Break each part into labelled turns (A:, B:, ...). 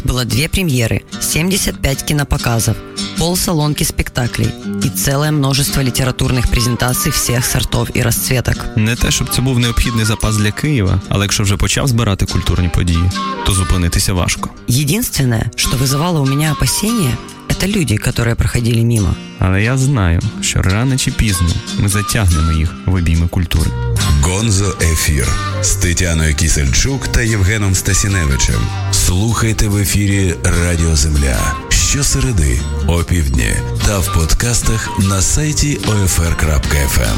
A: было 2 премьеры, 75 кинопоказов, полсалонки спектаклей и целое множество литературных презентаций всех сортов и расцветок.
B: Не те, щоб це був необхідний запас для Києва, але якщо вже почав збирати культурні події, то зупинитися важко.
A: Единственное, что вызывало у меня опасения, это люди, которые проходили мимо.
B: Але я знаю, що рано чи пізно ми затягнемо їх в обійми культури.
C: Гонзо Ефір з Тетяною Кісельчук та Євгеном Стасіневичем. Слухайте в ефірі Радіо Земля щосереди о півдні та в подкастах на сайті OFR.FM.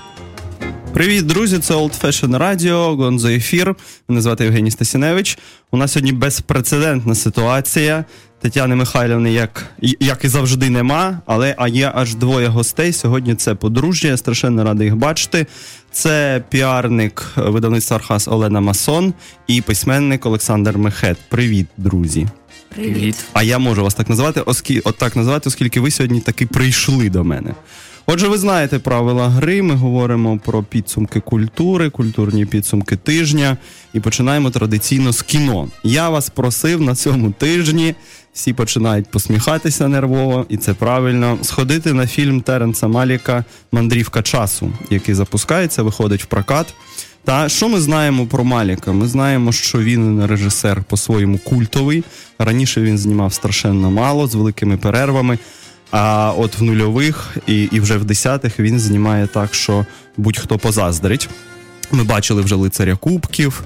D: Привіт, друзі, це Old Fashion Radio, Гонзо Ефір. Мене звати Євгеній Стасіневич. У нас сьогодні безпрецедентна ситуація. Тетяни Михайлівни, як і завжди, нема, але є аж 2 гостей. Сьогодні це подружжя, я страшенно радий їх бачити. Це піарник видавництва «Архаз» Олена Масон і письменник Олександр Мехет. Привіт, друзі.
E: Привіт.
D: А я можу вас так називати, оскільки ви сьогодні таки прийшли до мене. Отже, ви знаєте правила гри, ми говоримо про підсумки культури, культурні підсумки тижня і починаємо традиційно з кіно. Я вас просив на цьому тижні, всі починають посміхатися нервово, і це правильно, сходити на фільм Теренса Маліка «Мандрівка часу», який запускається, виходить в прокат. Та що ми знаємо про Маліка? Ми знаємо, що він режисер по-своєму культовий. Раніше він знімав страшенно мало, з великими перервами. А от в нульових і вже в 10-х він знімає так, що будь-хто позаздрить. Ми бачили вже «Лицаря Кубків»,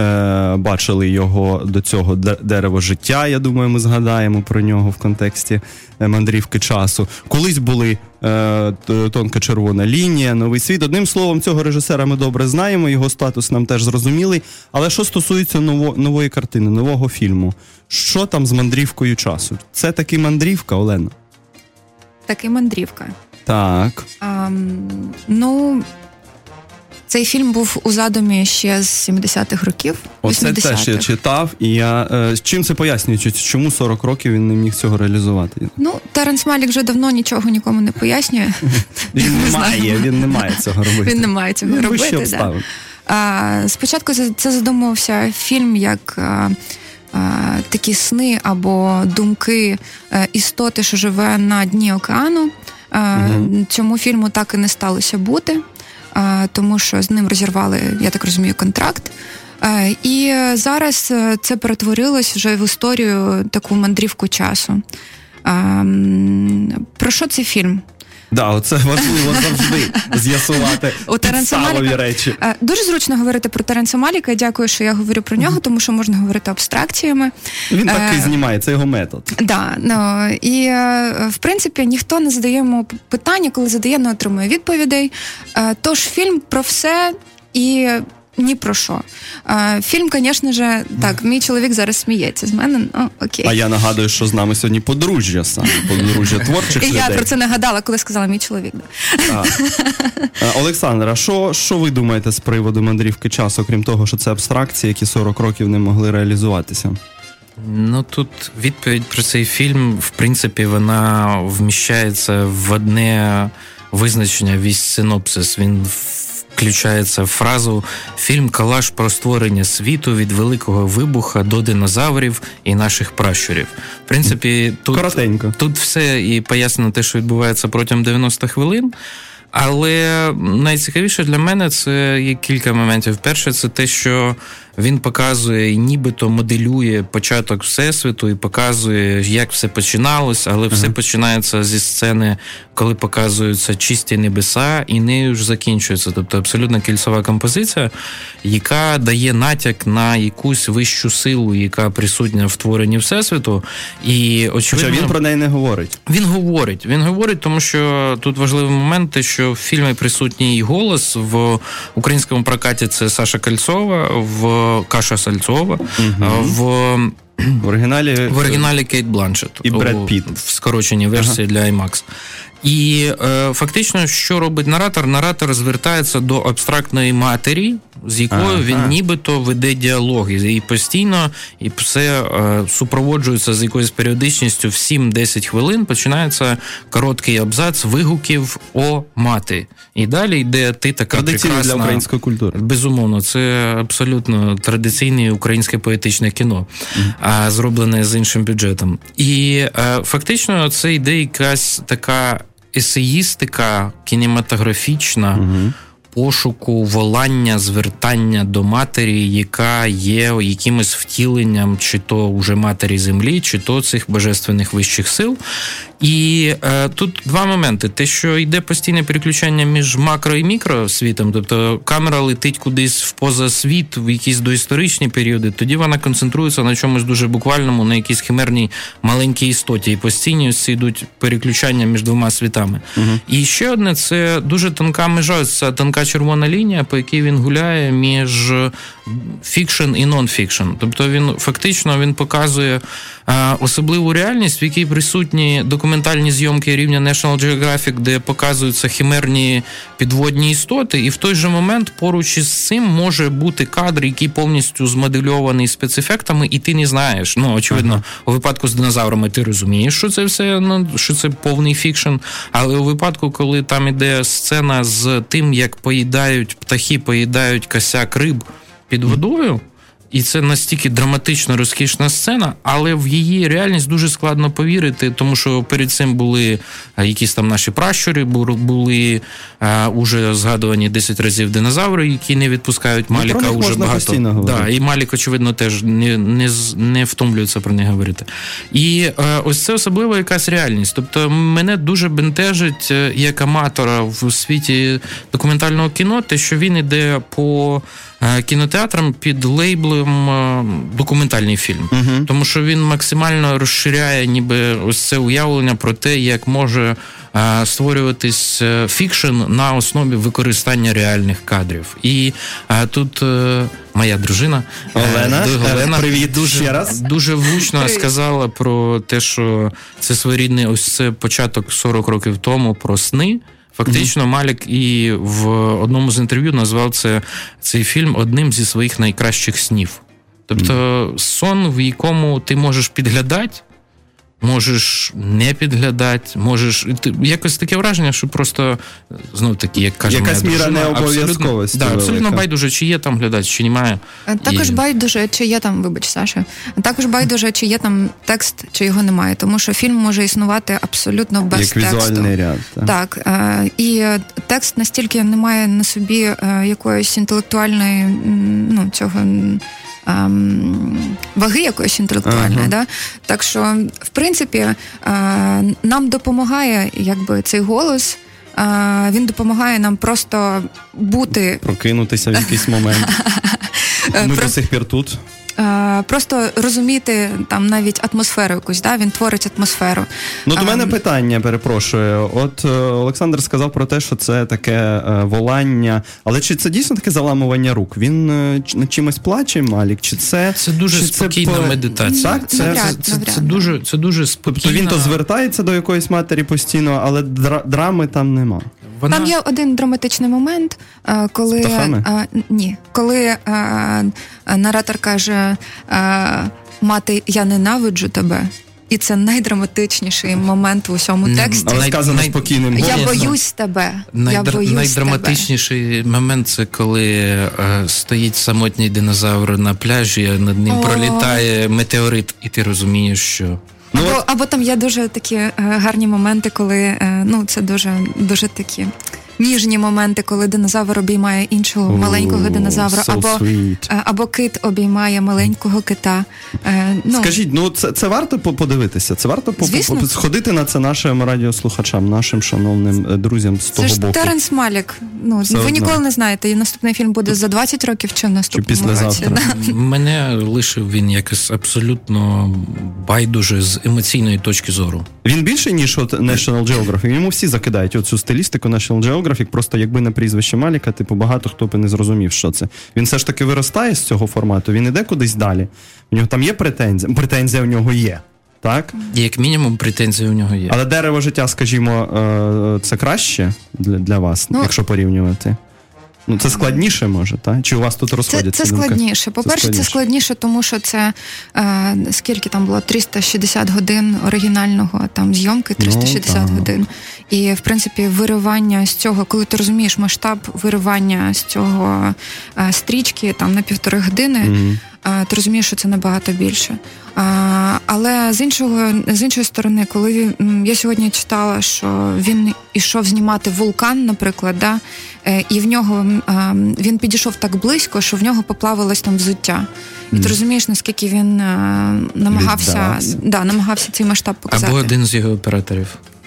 D: бачили його до цього «Дерево життя», я думаю, ми згадаємо про нього в контексті «Мандрівки часу». Колись були «Тонка червона лінія», «Новий світ». Одним словом, цього режисера ми добре знаємо, його статус нам теж зрозумілий. Але що стосується нової картини, нового фільму, що там з «Мандрівкою часу»? Це таки мандрівка, Олена?
E: Таки мандрівка.
D: Так.
E: Цей фільм був у задумі ще з 70-х років.
D: Оце
E: 80-х.
D: теж я читав, і я... чим це пояснюється? Чому 40 років він не міг цього реалізувати?
E: Теренс Малік вже давно нічого нікому не пояснює.
D: Він не має цього робити.
E: Він не має цього робити, так. Спочатку це задумувався фільм як... такі сни або думки істоти, що живе на дні океану. Цьому фільму так і не сталося бути, тому що з ним розірвали, я так розумію, контракт. І зараз це перетворилось вже в історію, таку мандрівку часу. Про що цей фільм?
D: Оце важливо завжди з'ясувати підставові речі.
E: Дуже зручно говорити про Теренса Маліка. Дякую, що я говорю про нього, тому що можна говорити абстракціями.
D: Він так і знімає, це його метод.
E: І, в принципі, ніхто не задає йому питання, коли задає, не отримує відповідей. Тож фільм про все і... ні про що. Фільм, звісно ж, так, мій чоловік зараз сміється з мене, окей.
D: А я нагадую, що з нами сьогодні подружжя саме, подружжя творчих людей.
E: І я про це нагадала, коли сказала мій чоловік.
D: Олександр, а що ви думаєте з приводу мандрівки часу, крім того, що це абстракції, які 40 років не могли реалізуватися?
F: Тут відповідь про цей фільм, в принципі, вона вміщається в одне визначення, весь синопсис. Він включається в фразу «Фільм-колаж про створення світу від Великого Вибуха до динозаврів і наших пращурів». В принципі, тут все і пояснено те, що відбувається протягом 90 хвилин. Але найцікавіше для мене це є кілька моментів. Перше, це те, що він показує і нібито моделює початок Всесвіту і показує, як все починалось, але все починається зі сцени, коли показуються чисті небеса, і нею ж закінчується. Тобто абсолютно кільцева композиція, яка дає натяк на якусь вищу силу, яка присутня в творенні Всесвіту. І, очевидно,
D: хоча він про неї не говорить.
F: Він говорить, тому що тут важливий момент, те, що в фільмі присутній голос, в українському прокаті це Саша Кальцова, в Каша Сальцова, в оригіналі Кейт Бланшетт.
D: І Бред Пітт.
F: В скороченій версії для IMAX. І фактично, що робить наратор? Наратор звертається до абстрактної матері, з якою він нібито веде діалоги. І постійно, і все супроводжується з якоюсь періодичністю в 7-10 хвилин, починається короткий абзац вигуків «О, мати». І далі йде «Ти така
D: традиційно
F: прекрасна».
D: Для української культури.
F: Безумовно, це абсолютно традиційне українське поетичне кіно. зроблене з іншим бюджетом. І фактично це йде якась така есеїстика кінематографічна, пошуку, волання, звертання до матері, яка є якимось втіленням чи то вже матері землі, чи то цих божественних вищих сил. І тут два моменти. Те, що йде постійне переключання між макро і мікросвітом, тобто камера летить кудись в позасвіт, в якісь доісторичні періоди, тоді вона концентрується на чомусь дуже буквальному, на якійсь химерній маленькій істоті. І постійно ось переключання між двома світами. І ще одне, це дуже тонка межа, це тонка червона лінія, по якій він гуляє між фікшн і нон-фікшн. Тобто він показує особливу реальність, в якій присутні документальні зйомки рівня National Geographic, де показуються химерні підводні істоти, і в той же момент поруч із цим може бути кадр, який повністю змодельований спецефектами, і ти не знаєш. Очевидно, у випадку з динозаврами ти розумієш, що це все, що це повний фікшн, але у випадку, коли там іде сцена з тим, як птахи поїдають косяк риб під водою, і це настільки драматично розкішна сцена, але в її реальність дуже складно повірити, тому що перед цим були якісь там наші пращури, були уже згадувані 10 разів динозаври, які не відпускають Маліка уже багато. Да, і Малік, очевидно, теж не втомлюється про них говорити. І ось це особливо якась реальність. Тобто мене дуже бентежить як аматора в світі документального кіно, те, що він іде по кінотеатрам під лейблом документальний фільм. Тому що він максимально розширяє ніби ось це уявлення про те, як може створюватись фікшн на основі використання реальних кадрів. І тут моя дружина Олена
D: привіт, ще раз.
F: Дуже влучно сказала про те, що це своєрідний, ось це початок 40 років тому про сни. Фактично, Малік і в одному з інтерв'ю назвав цей фільм одним зі своїх найкращих снів. Тобто сон, в якому ти можеш підглядати, можеш не підглядати, можеш... Якось таке враження, що просто, знов-таки, як каже
D: якась моя дружина, міра необов'язковості.
F: Абсолютно байдуже, чи є там глядач, чи немає.
E: Також байдуже, чи є там, вибач, Саша, також байдуже, чи є там текст, чи його немає, тому що фільм може існувати абсолютно без тексту.
D: Як візуальний ряд.
E: Так, і текст настільки не має на собі якоїсь інтелектуальної, цього... ваги якоїсь інтелектуальної, да? Так що, в принципі, нам допомагає цей голос, він допомагає нам просто бути...
D: Прокинутися в якийсь момент. Ми до сих пір тут.
E: Просто розуміти там навіть атмосферу якусь, да? Він творить атмосферу.
D: До мене питання, перепрошую. От Олександр сказав про те, що це таке волання, але чи це дійсно таке заламування рук? Він над чимось плаче, Малік? Чи це...
F: Це дуже спокійна медитація.
D: Так?
F: Це дуже спокійна...
D: Тобто він то звертається до якоїсь матері постійно, але драми там нема.
E: Там є один драматичний момент, коли... Ні. Коли наратор каже: «Мати, я ненавиджу тебе». І це найдраматичніший момент в усьому тексті.
D: Але сказано спокійним голосом.
E: Я боюсь тебе.
F: Найдраматичніший момент – це коли стоїть самотній динозавр на пляжі, над ним пролітає метеорит, і ти розумієш, що...
E: Або там є дуже такі гарні моменти, коли, це дуже такі ніжні моменти, коли динозавр обіймає іншого маленького динозавра, або кит обіймає маленького кита.
D: Скажіть, це варто подивитися? Це варто сходити на це нашим радіослухачам, нашим шановним друзям з того боку?
E: Це ж Теренс Малік. Ви ніколи не знаєте, і наступний фільм буде за 20 років чи в наступному році.
F: Мене лишив він якось абсолютно байдуже з емоційної точки зору.
D: Він більше, ніж National Geographic. Йому всі закидають оцю стилістику National Geographic, просто якби не прізвище Маліка, багато хто б не зрозумів, що це. Він все ж таки виростає з цього формату, він іде кудись далі. У нього там є претензія? Претензія у нього є, так?
F: Як мінімум претензія у нього є.
D: Але «Дерево життя», скажімо, це краще для вас, якщо порівнювати? Це складніше, може, так? Чи у вас тут розходяться?
E: Це складніше. По-перше, це складніше, тому що це, скільки там було, 360 годин оригінального там зйомки, 360 годин. І, в принципі, виривання з цього, коли ти розумієш масштаб виривання з цього стрічки там на 1,5 години, ти розумієш, що це набагато більше. Але з іншої сторони, коли я сьогодні читала, що він ішов знімати «Вулкан», наприклад, да, і в нього він підійшов так близько, що в нього поплавилось там взуття. І ти розумієш, наскільки він намагався цей масштаб показати.
F: Або один з його операторів.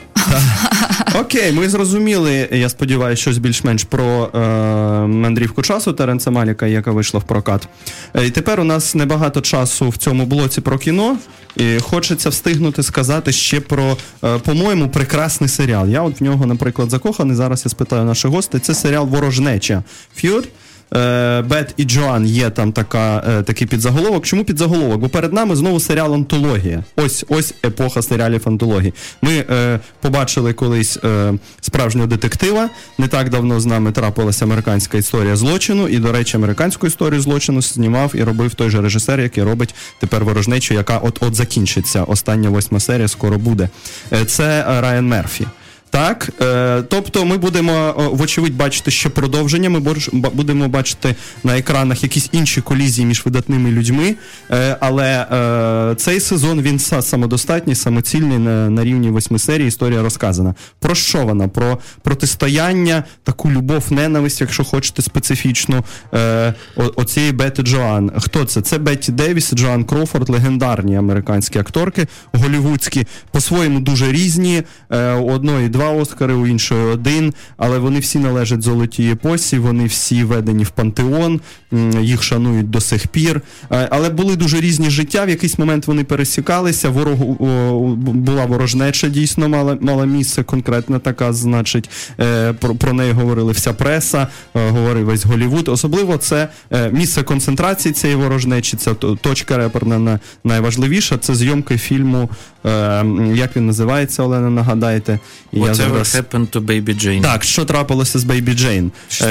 D: Окей, ми зрозуміли, я сподіваюся, щось більш-менш про мандрівку часу Теренса Маліка, яка вийшла в прокат. І тепер у нас небагато часу в цьому блоці про кіно, і хочеться встигнути сказати ще про, по-моєму, прекрасний серіал. Я от в нього, наприклад, закоханий, зараз я спитаю наших гостей, це серіал «Ворожнеча». Ф'юр. Бет і Джоан є там такий підзаголовок. Чому підзаголовок? Бо перед нами знову серіал «Антологія». Ось епоха серіалів антології. Ми побачили колись справжнього детектива. Не так давно з нами трапилася американська історія злочину. І, до речі, американську історію злочину знімав і робив той же режисер, який робить тепер «Ворожнечу», яка от закінчиться. Остання 8 серія скоро буде. Це Райан Мерфі. Так, тобто ми будемо, вочевидь, бачити ще продовження, ми будемо бачити на екранах якісь інші колізії між видатними людьми, але цей сезон, він самодостатній, самоцільний, на рівні 8 серій, історія розказана. Про що вона? Про протистояння, таку любов-ненависть, якщо хочете специфічну, оцієї Бети Джоан. Хто це? Це Бетті Девіс, Джоан Кроуфорд, легендарні американські акторки, голлівудські, по-своєму дуже різні, у одної 2 Оскари, у іншої 1, але вони всі належать золотій епосі, вони всі введені в пантеон, їх шанують до сих пір, але були дуже різні життя, в якийсь момент вони пересікалися, була ворожнеча, дійсно мала місце, конкретна така, значить, про неї говорили вся преса, говорив весь Голлівуд, особливо це місце концентрації цієї ворожнечі, це точка реперна найважливіша, це зйомки фільму, як він називається, Олена, нагадайте.
F: Whatever happened to Baby Jane.
D: Так, що трапилося з Baby Jane?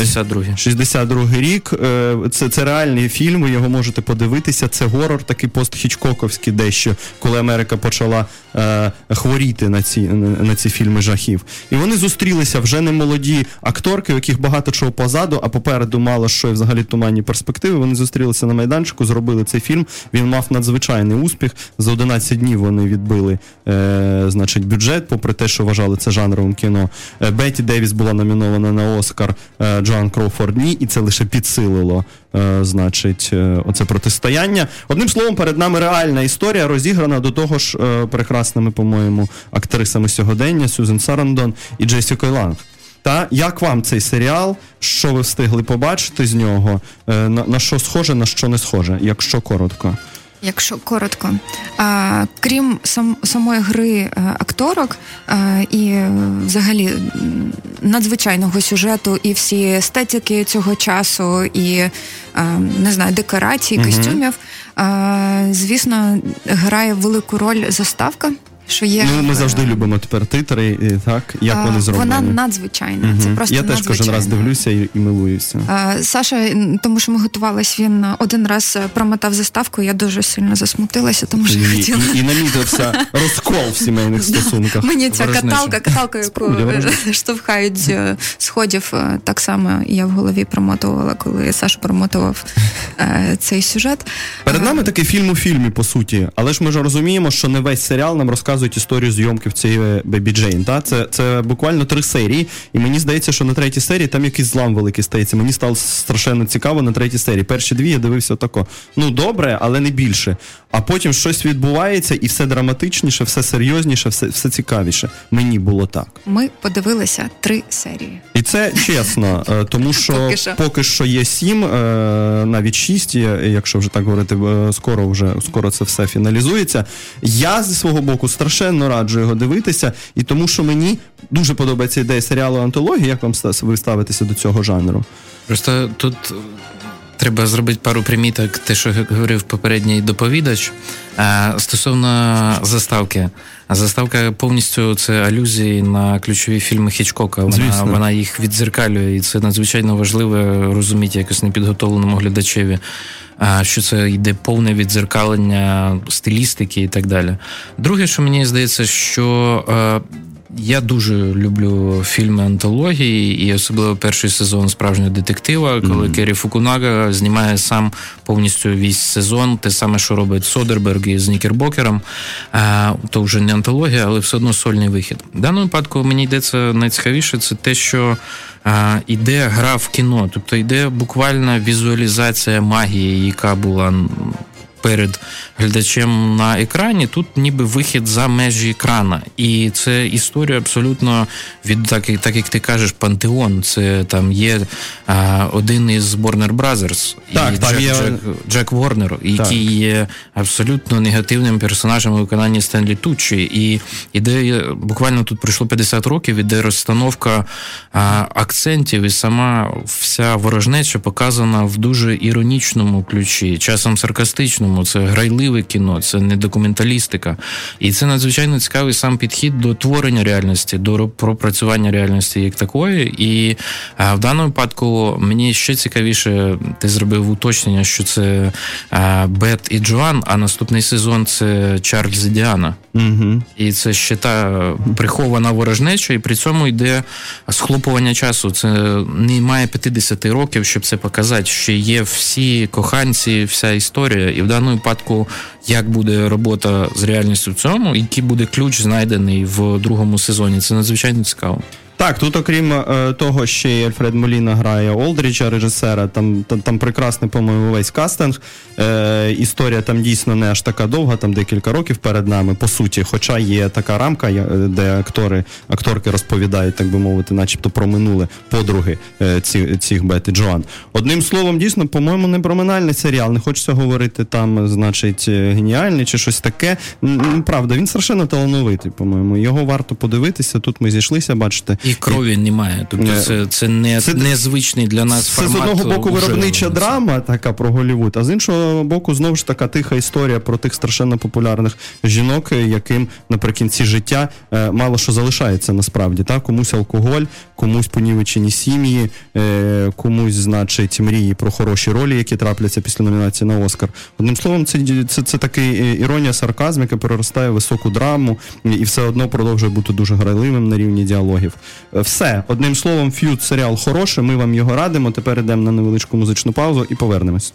D: 62-й рік. Це реальний фільм, ви його можете подивитися. Це горор, такий пост-хічкоковський дещо, коли Америка почала хворіти на ці фільми жахів. І вони зустрілися вже не молоді акторки, у яких багато чого позаду, а попереду мало що і взагалі туманні перспективи. Вони зустрілися на майданчику, зробили цей фільм. Він мав надзвичайний успіх. За 11 днів вони відбили значить, бюджет, попри те, що вважали це жанровим кіно. Бетті Девіс була номінована на Оскар, Джоан Кроуфорд ні, і це лише підсилило, значить, оце протистояння. Одним словом, перед нами реальна історія, розіграна до того ж прекрасними, по-моєму, актрисами сьогодення, Сюзан Сарандон і Джесікою Ланг. Та як вам цей серіал? Що ви встигли побачити з нього? На що схоже, на що не схоже, якщо коротко?
E: Якщо коротко. Крім самої гри акторок і взагалі надзвичайного сюжету і всі естетики цього часу і, не знаю, декорацій, костюмів, звісно, грає велику роль заставка. Що є,
D: ми завжди любимо тепер титри, так? Як вони зроблені?
E: Вона надзвичайна. Це просто
D: я теж кожен раз дивлюся і милуюся.
E: Саша, тому що ми готувалися, він один раз промотав заставку, я дуже сильно засмутилася, тому що я хотіла...
D: І намітився розкол в сімейних стосунках.
E: Мені ця каталка, яку штовхають з сходів, так само я в голові промотувала, коли Саша промотував цей сюжет.
D: Перед нами такий фільм у фільмі, по суті, але ж ми ж розуміємо, що не весь серіал нам розказують історію зйомки в цієї Бебі Джейн. Та? Це буквально 3 серії, і мені здається, що на 3-й серії там якийсь злам великий стається. Мені стало страшенно цікаво на 3-й серії. Перші 2 я дивився отако. Ну, добре, але не більше. А потім щось відбувається, і все драматичніше, все серйозніше, все цікавіше. Мені було так.
E: Ми подивилися 3 серії.
D: І це чесно, тому що поки що є 7, навіть 6, якщо вже так говорити, скоро це все фіналізується. Я зі свого боку страшенно раджу його дивитися, і тому що мені дуже подобається ідея серіалу «Антологія». Як вам ви ставитеся до цього жанру?
F: Просто тут треба зробити пару приміток, те, що говорив попередній доповідач. Стосовно заставки. Заставка повністю це алюзії на ключові фільми Хічкока. Вона їх віддзеркалює, і це надзвичайно важливо розуміти якось непідготовленому глядачеві, що це йде повне віддзеркалення стилістики і так далі. Друге, що мені здається, що Я дуже люблю фільми-антології, і особливо перший сезон «Справжнього детектива», коли Керрі Фукунага знімає сам повністю весь сезон, те саме, що робить Содерберг із Нікербокером. То вже не антологія, але все одно сольний вихід. В даному випадку мені йдеться найцікавіше, це те, що іде гра в кіно, тобто йде буквально візуалізація магії, яка була перед глядачем на екрані, тут ніби вихід за межі екрана. І це історія абсолютно від, так як ти кажеш, пантеон. Це там є один із Warner Brothers, Джек Ворнер, який є абсолютно негативним персонажем у виконанні Стенлі Туччі. І іде, буквально тут пройшло 50 років, іде розстановка акцентів, і сама вся ворожнеча показана в дуже іронічному ключі, часом саркастичному. Це грайливе кіно, це не документалістика. І це надзвичайно цікавий сам підхід до творення реальності, до пропрацювання реальності як такої. І в даному випадку мені ще цікавіше, ти зробив уточнення, що це Бет і Джоан, а наступний сезон це Чарльз і Діана. Угу. І це ще та прихована ворожнеча, і при цьому йде схлопування часу. Це не має 50 років, щоб це показати. Ще є всі коханці, вся історія. І в даному випадку, як буде робота з реальністю в цьому, який буде ключ знайдений в другому сезоні. Це надзвичайно цікаво.
D: Так, тут окрім того, ще й Альфред Моліна грає Олдріджа, режисера, там прекрасний, по-моєму, весь кастинг. Історія там дійсно не аж така довга, там декілька років перед нами, по суті, хоча є така рамка, де акторки розповідають, так би мовити, начебто про минуле подруги цих Бет і Джоан. Одним словом, дійсно, по-моєму, не проминальний серіал, не хочеться говорити там, значить, геніальний чи щось таке. Правда, він страшенно талановитий, по-моєму. Його варто подивитися, тут ми зійшлися, бачите.
F: І крові немає. Тобто це незвичний для нас формат.
D: Це з одного боку виробнича драма така про Голлівуд, а з іншого боку знову ж така тиха історія про тих страшенно популярних жінок, яким наприкінці життя мало що залишається насправді. Так? Комусь алкоголь, комусь понівечені сім'ї, комусь, значить, мрії про хороші ролі, які трапляться після номінації на Оскар. Одним словом, це такий іронія, сарказм, яка переростає в високу драму і все одно продовжує бути дуже грайливим на рівні діалогів. Все. Одним словом, «Ф'ют» серіал хороший, ми вам його радимо. Тепер йдемо на невеличку музичну паузу і повернемось.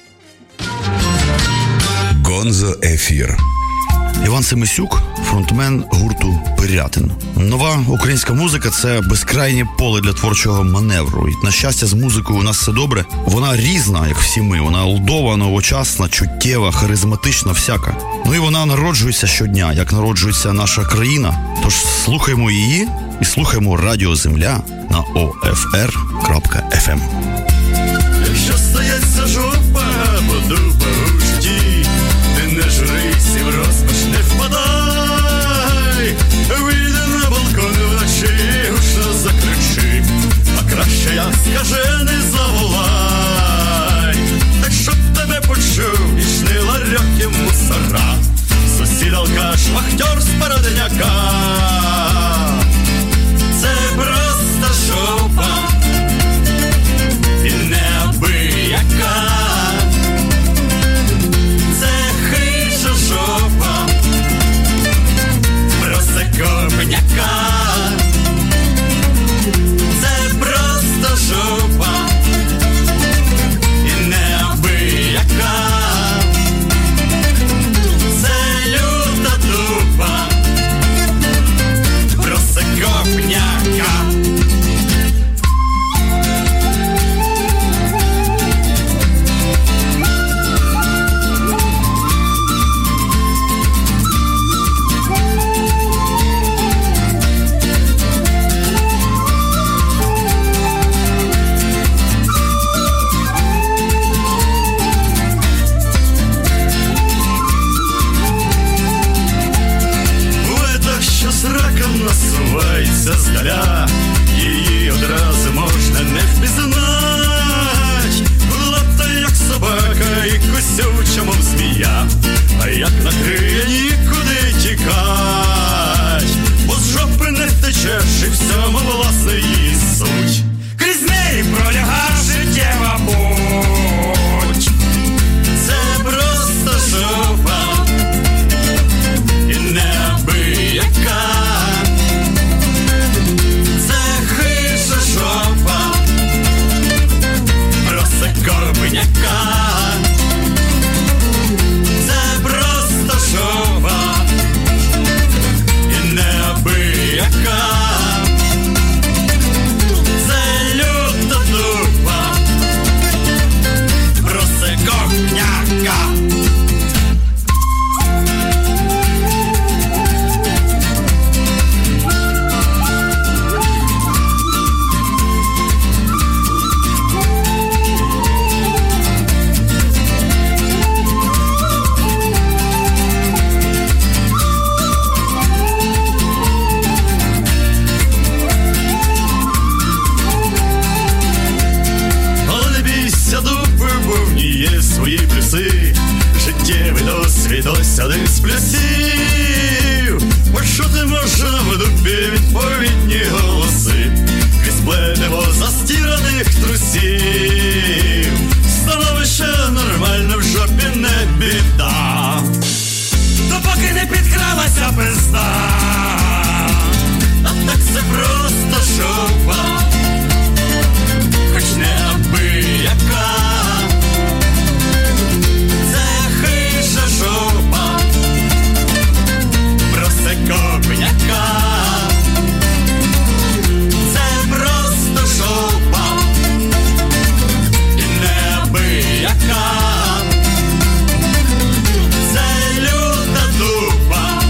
C: Гонзо Ефір.
G: Іван Семисюк, фронтмен гурту «Пирятин». Нова українська музика – це безкрайнє поле для творчого маневру. І, на щастя, з музикою у нас все добре. Вона різна, як всі ми. Вона лдова, новочасна, чуттєва, харизматична, всяка. Ну і вона народжується щодня, як народжується наша країна. Тож слухаймо її і слухаймо Радіо Земля на OFR.FM.
H: Якщо стається жопа, подуба у житті, ти не жрись і в розпач не впадай. Вийди на балкон вночі, гучно закричи, а краще я скажений заволай. Так щоб тебе почув і шни ларьок і мусора, сусід алкаш, вахтер з Породняка. Це просто жопа і неабияка. Це хижа жопа просекопняка. Це просто жопа і неабияка. Це люта дупа просекопняка. Насувається здаля, її одразу можна не впізнать. Лапта як собака і кусюча, мов змія, а як накриє, нікуди тікать. Бо з жопи не втечеш, і всьому власне її суть. Крізь неї пролягає життєва путь. Це просто жопа і неабияка. досвід ось один з плюсів. Почути можна в дупі відповідні голоси, крізь плетиво застіраних трусів. Становище нормально, в жопі не біда, допоки не підкралася пизда. А так це просто жопа, хоч не абияка. Це хижа жопа, проси копняка. Це просто жопа і не абияка. Це люта дупа,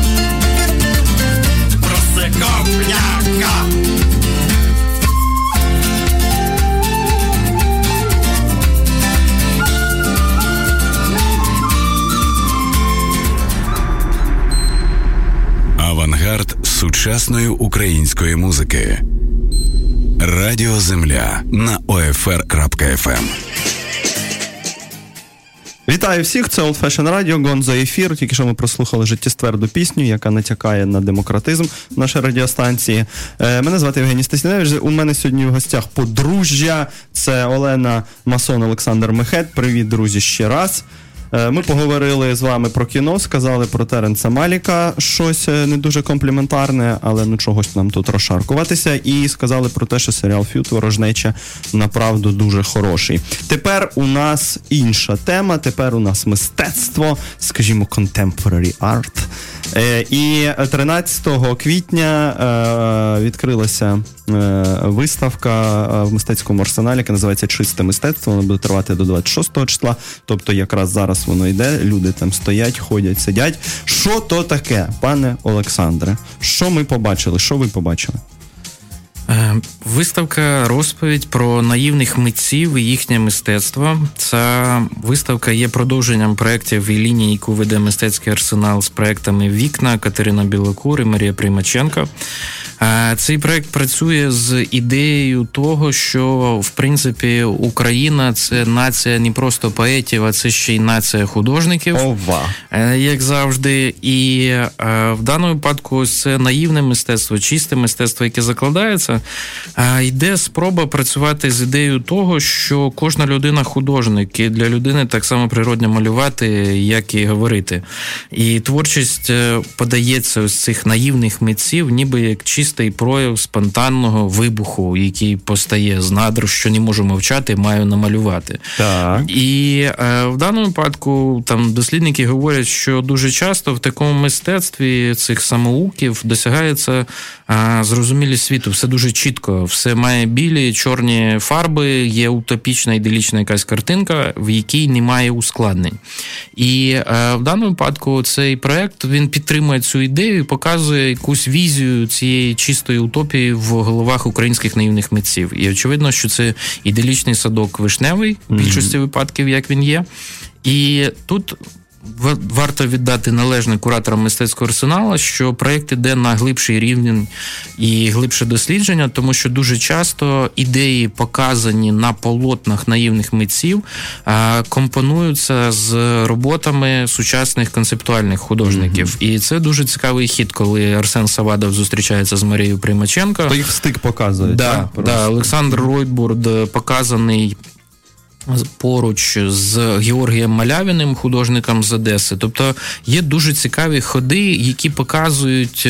H: проси копняка.
C: Авангард сучасної української музики. Радіо Земля на OFR.FM.
D: Вітаю всіх, це Old Fashion Radio, Гонзо ефір. Тільки що ми прослухали життєстверду пісню, яка натякає на демократизм нашої радіостанції. Мене звати Євгеній Стасіневич. У мене сьогодні в гостях подружжя. Це Олена Масон, Олександр Мехет. Привіт, друзі, ще раз. Ми поговорили з вами про кіно, сказали про Теренса Маліка щось не дуже компліментарне, але ну чогось нам тут розшаркуватися, і сказали про те, що серіал «Ф'ют. Ворожнеча» направду дуже хороший. Тепер у нас інша тема, тепер у нас мистецтво, скажімо, contemporary art. І 13 квітня відкрилася виставка в мистецькому арсеналі, яка називається «Чисте мистецтво». Вона буде тривати до 26 числа, тобто якраз зараз воно йде, люди там стоять, ходять, сидять. Що то таке, пане Олександре? Що ми побачили? Що ви побачили?
F: Виставка «Розповідь про наївних митців і їхнє мистецтво». Ця виставка є продовженням проєктів і лінії, яку веде мистецький арсенал з проєктами «Вікна», Катерина Білокур і Марія Примаченко. Цей проєкт працює з ідеєю того, що, в принципі, Україна – це нація не просто поетів, а це ще й нація художників, як завжди. І в даному випадку ось це наївне мистецтво, чисте мистецтво, яке закладається, йде спроба працювати з ідеєю того, що кожна людина художник, і для людини так само природно малювати, як і говорити. І творчість подається ось цих наївних митців, ніби як чистий прояв спонтанного вибуху, який постає з надр, що не можу мовчати, маю намалювати.
D: Так.
F: І в даному випадку там дослідники говорять, що дуже часто в такому мистецтві цих самоуків досягається зрозумілість світу. Все дуже чітко, все має білі, чорні фарби, є утопічна, іделічна якась картинка, в якій немає ускладнень. І в даному випадку цей проєкт, він підтримує цю ідею і показує якусь візію цієї чистої утопії в головах українських наївних митців. І очевидно, що це іделічний садок вишневий, в більшості випадків, як він є. І тут варто віддати належне кураторам мистецького арсеналу, що проєкт іде на глибший рівень і глибше дослідження, тому що дуже часто ідеї, показані на полотнах наївних митців, компонуються з роботами сучасних концептуальних художників. І це дуже цікавий хід, коли Арсен Савадов зустрічається з Марією Примаченко.
D: То їх стик показують.
F: Да, Олександр Ройтбурд показаний поруч з Георгієм Малявіним, художником з Одеси. Тобто є дуже цікаві ходи, які показують...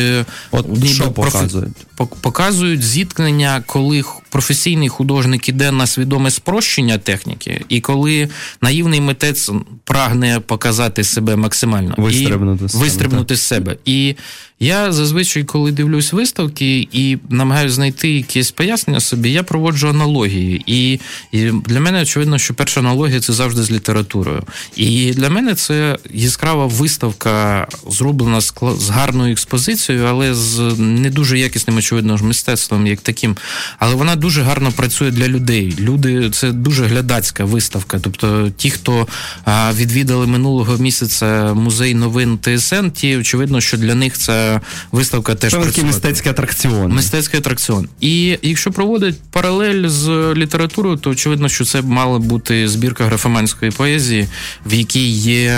F: Показують зіткнення, коли професійний художник іде на свідоме спрощення техніки, і коли наївний митець прагне показати себе максимально. Вистрибнути з себе. І я зазвичай, коли дивлюсь виставки і намагаюся знайти якесь пояснення собі, я проводжу аналогії. І для мене очевидно, що перша аналогія – це завжди з літературою. І для мене це яскрава виставка, зроблена з гарною експозицією, але з не дуже якісним, очевидно, мистецтвом як таким. Але вона дуже гарно працює для людей. Люди – це дуже глядацька виставка. Тобто ті, хто відвідали минулого місяця музей новин ТСН, ті, очевидно, що для них це виставка теж працює.
D: Це мистецький атракціон.
F: Мистецький атракціон. І якщо проводить паралель з літературою, то очевидно, що це мала бути збірка графоманської поезії, в якій є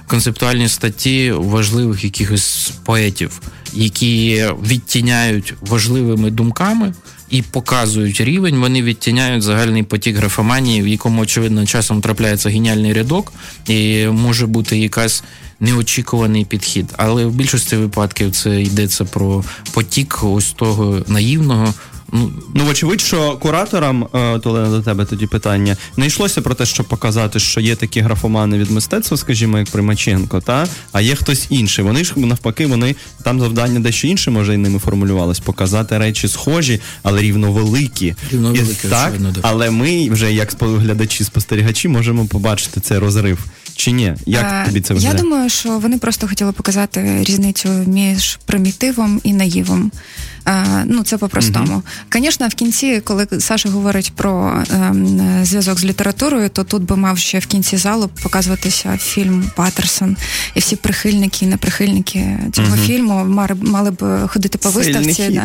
F: концептуальні статті важливих якихось поетів, які відтіняють важливими думками і показують рівень, вони відтіняють загальний потік графоманії, в якому, очевидно, часом трапляється геніальний рядок і може бути якась неочікуваний підхід. Але в більшості випадків це йдеться про потік ось того наївного.
D: Ну, вочевидь, що кураторам, Олена, до тебе тоді питання, не йшлося про те, щоб показати, що є такі графомани від мистецтва, скажімо, як Примаченко, а є хтось інший. Вони ж, навпаки, там завдання дещо інше, може, і ними формулювалось, показати речі схожі, але рівновеликі. Так, але ми вже, як глядачі-спостерігачі, можемо побачити цей розрив. Чи ні? Як тобі це виглядає?
E: Я думаю, що вони просто хотіли показати різницю між примітивом і наївом. Це по-простому. Звісно, в кінці, коли Саша говорить про зв'язок з літературою, то тут би мав ще в кінці залу показуватися фільм «Патерсон». І всі прихильники і неприхильники цього фільму мали б ходити по виставці.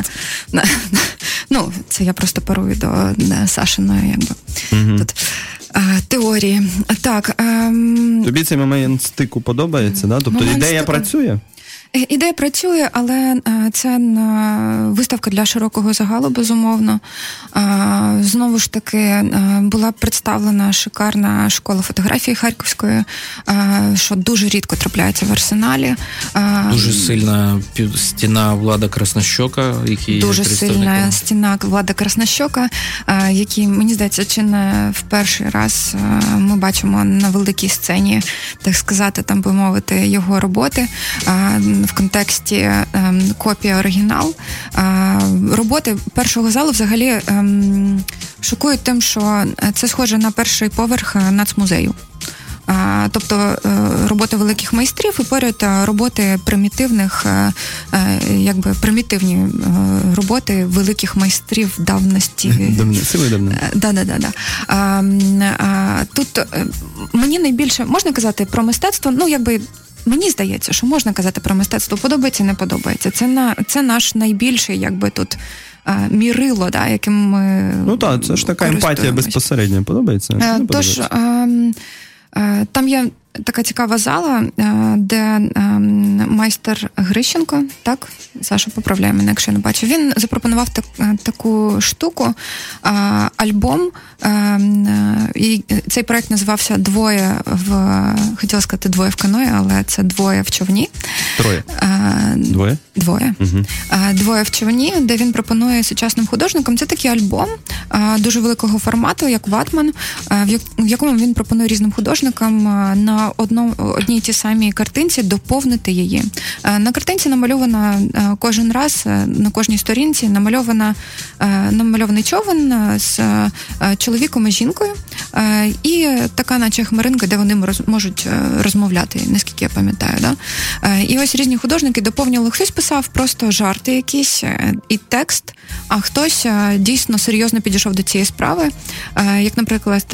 E: Це я просто парую до Сашиної, тут теорії. Так.
D: Тобі цей момент стику подобається, да? Тобто ідея працює?
E: Ідея працює, але це виставка для широкого загалу, безумовно. Знову ж таки, була представлена шикарна школа фотографії Харківської, що дуже рідко трапляється в Арсеналі.
F: Дуже сильна стіна Влада Краснощока, який
E: дуже сильна стіна Влада Краснощока, який, мені здається, чи не в перший раз ми бачимо на великій сцені, так сказати, там би мовити, його роботи. В контексті копія оригінал. Роботи першого залу взагалі шокують тим, що це схоже на перший поверх нацмузею. Тобто роботи великих майстрів і поряд роботи примітивних, примітивні роботи великих майстрів давності.
D: Сили давно.
E: Да. Тут мені найбільше, можна казати про мистецтво, мені здається, що можна казати про мистецтво, подобається, не подобається. Це наш найбільший, тут, мірило, яким ми
D: це ж така емпатія безпосередньо. Подобається?
E: Тож, там є така цікава зала, де майстер Грищенко, так, Саша, поправляй мене, якщо не бачу, він запропонував таку штуку, альбом, і цей проект називався хотіла сказати «Двоє в каної», але це «Двоє в човні».
D: Троє. Двоє?
E: Двоє.
D: Угу.
E: «Двоє в човні», де він пропонує сучасним художникам. Це такий альбом дуже великого формату, як ватман, в якому він пропонує різним художникам на одній і тій самій картинці доповнити її. На картинці намальована кожен раз, на кожній сторінці намальований човен з чоловіком і жінкою, і така наче хмаринка, де вони можуть розмовляти, наскільки я пам'ятаю. Да? І ось різні художники доповнювали. Хтось писав просто жарти якісь і текст, а хтось дійсно серйозно підійшов до цієї справи. Як, наприклад...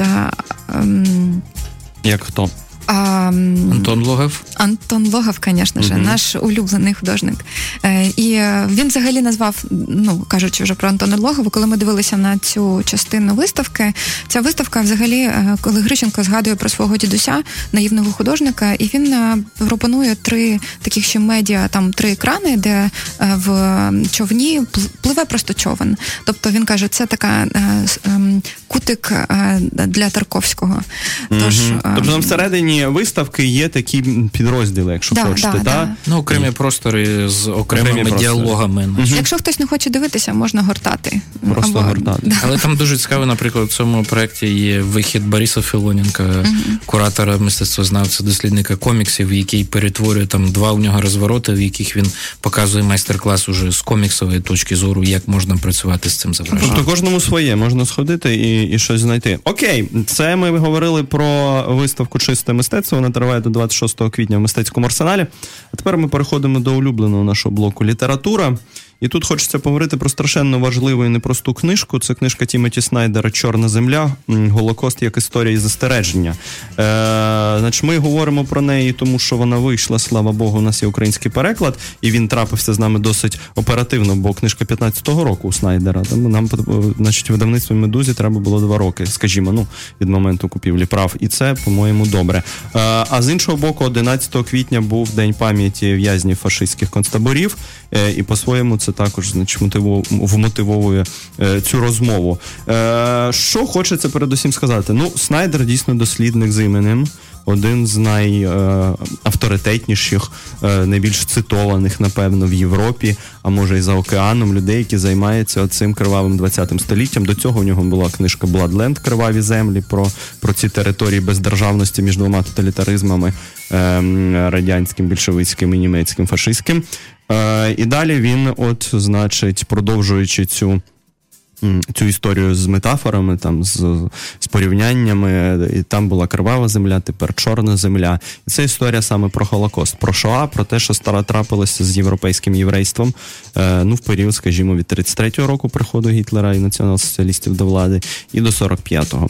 D: Як хто?
F: Антон Логов.
E: Антон Логов, звісно ж, наш улюблений художник. І він взагалі назвав, кажучи вже про Антона Логова, коли ми дивилися на цю частину виставки, ця виставка взагалі, коли Грищенко згадує про свого дідуся, наївного художника, і він пропонує 3 таких ще медіа, там 3 екрани, де в човні пливе просто човен. Тобто він каже, це така кутик для Тарковського.
D: Тобто там всередині виставки є такі підрозділи, якщо хочете, так?
F: Окремі простори з окремими діалогами.
E: Якщо хтось не хоче дивитися, можна гортати.
D: Просто гортати.
F: Але там дуже цікаво, наприклад, в цьому проєкті є вихід Бориса Філоненка, куратора, мистецтвознавця, дослідника коміксів, який перетворює там 2 у нього розвороти, в яких він показує майстер-клас уже з коміксової точки зору, як можна працювати з цим зображенням.
D: Тобто кожному своє, можна сходити і щось знайти. Окей, це ми говорили про виставку «Чисте мистецтво», вона триває до 26 квітня в Мистецькому арсеналі. А тепер ми переходимо до улюбленого нашого блоку «Література». І тут хочеться поговорити про страшенно важливу і непросту книжку. Це книжка Тімоті Снайдера «Чорна земля. Голокост як історія і застереження». Значить, ми говоримо про неї, тому що вона вийшла, слава Богу, у нас є український переклад, і він трапився з нами досить оперативно, бо книжка 15-го року у Снайдера. Тому нам, значить, видавництву «Медузі» треба було 2 роки, скажімо, від моменту купівлі прав. І це, по-моєму, добре. А з іншого боку, 11 квітня був День пам'яті в'язнів фашистських концтаборів, і по-своєму це також, значить, вмотивовує цю розмову. Що хочеться передусім сказати? Ну, Снайдер дійсно дослідник з іменем, один з найавторитетніших, найбільш цитованих, напевно, в Європі, а може і за океаном, людей, які займаються цим кривавим 20-м століттям. До цього у нього була книжка «Бладленд. Криваві землі» про ці території бездержавності між 2 тоталітаризмами, радянським, більшовицьким і німецьким, фашистським. І далі він, значить, продовжуючи цю історію з метафорами, там, з порівняннями, і там була кривава земля, тепер чорна земля. І це історія саме про Холокост, про Шоа, про те, що трапилося з європейським єврейством, в період, скажімо, від 33-го року приходу Гітлера і націонал-соціалістів до влади, і до 45-го.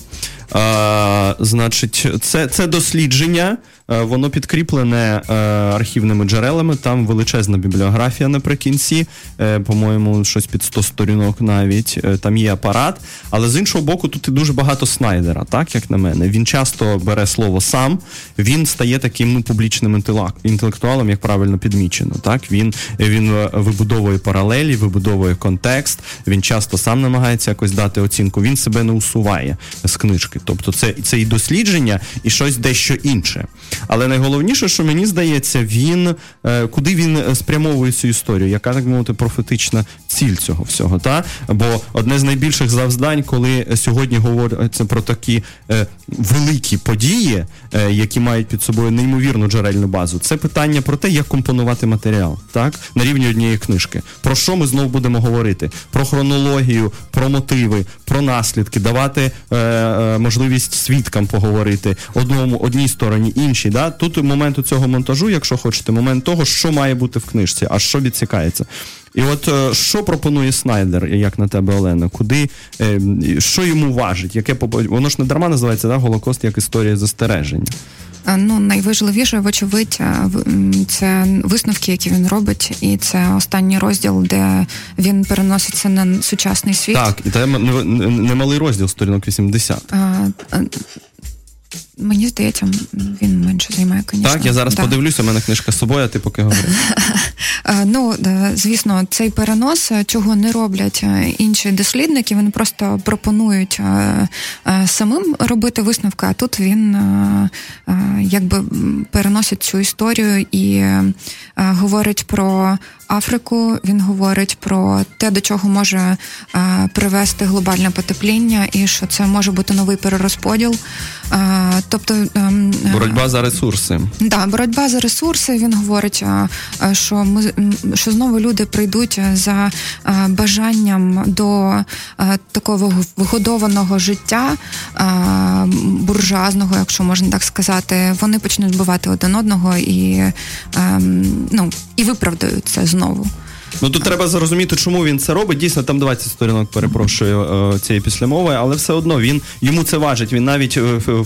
D: Значить, це дослідження, воно підкріплене архівними джерелами, там величезна бібліографія наприкінці, по-моєму, щось під 100 сторінок навіть, там є апарат, але з іншого боку тут і дуже багато Снайдера, так, як на мене. Він часто бере слово сам, він стає таким публічним інтелектуалом, як правильно підмічено, так, він вибудовує паралелі, вибудовує контекст, він часто сам намагається якось дати оцінку, він себе не усуває з книжки, тобто це і дослідження, і щось дещо інше. Але найголовніше, що мені здається, куди він спрямовує цю історію, яка, так мовити, профетична ціль цього всього, та? Бо одне з найбільших завдань, коли сьогодні говориться про такі великі події, які мають під собою неймовірну джерельну базу, це питання про те, як компонувати матеріал, так? На рівні однієї книжки. Про що ми знов будемо говорити? Про хронологію, про мотиви, про наслідки, давати можливість свідкам поговорити одній стороні, іншій. Да? Тут момент цього монтажу, якщо хочете, момент того, що має бути в книжці, а що відсікається. І от що пропонує Снайдер, як на тебе, Олена? Що йому важить? Воно ж не дарма називається, да? Голокост як історія застереження.
E: Найважливіше, вочевидь, це висновки, які він робить, і це останній розділ, де він переноситься на сучасний світ.
D: Так, і це немалий розділ, сторінок 80.
E: Мені здається, він менше займає, звісно.
D: Так, я зараз подивлюся, у мене книжка з собою, а ти поки говори.
E: Звісно, цей перенос, чого не роблять інші дослідники, вони просто пропонують самим робити висновки, а тут він якби переносить цю історію і говорить про Африку, він говорить про те, до чого може привести глобальне потепління, і що це може бути новий перерозподіл. Тобто
D: боротьба за ресурси.
E: Так, боротьба за ресурси. Він говорить, що знову люди прийдуть за бажанням до такого вигодованого життя, буржуазного, якщо можна так сказати. Вони почнуть вбивати один одного і виправдають це знову.
D: Тут треба зрозуміти, чому він це робить. Дійсно, там 20 сторінок, перепрошую, цієї післямови, але все одно йому це важить. Він навіть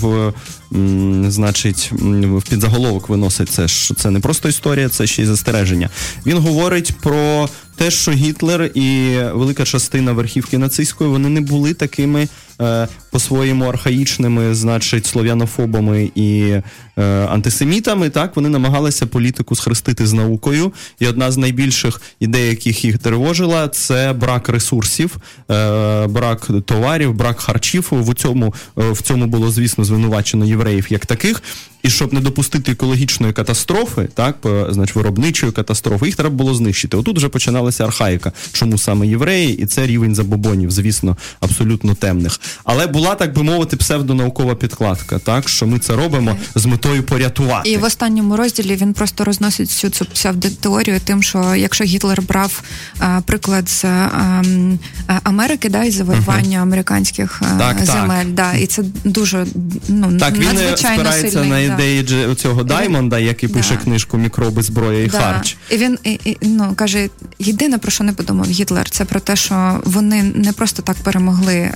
D: в підзаголовок виносить це, що це не просто історія, це ще й застереження. Він говорить про те, що Гітлер і велика частина верхівки нацистської, вони не були такими по-своєму архаїчними, слов'янофобами і антисемітами, так, вони намагалися політику схрестити з наукою, і одна з найбільших ідей, яких їх тривожила, це брак ресурсів, брак товарів, брак харчів. В цьому було, звісно, звинувачено євреїв як таких, і щоб не допустити екологічної катастрофи, так, виробничої катастрофи, їх треба було знищити. Отут вже починалася архаїка. Чому саме євреї? І це рівень забобонів, звісно, абсолютно темних. Але була, так би мовити, псевдонаукова підкладка, так, що ми це робимо з метою порятувати.
E: І в останньому розділі він просто розносить всю цю псевдотеорію тим, що якщо Гітлер брав приклад з Америки, да, і завоювання американських земель, да, і це дуже надзвичайно
D: сильний. Так, він спирається на ідеї цього Даймонда, який пише книжку «Мікроби, зброя і харч».
E: І він каже, єдине, про що не подумав Гітлер, це про те, що вони не просто так перемогли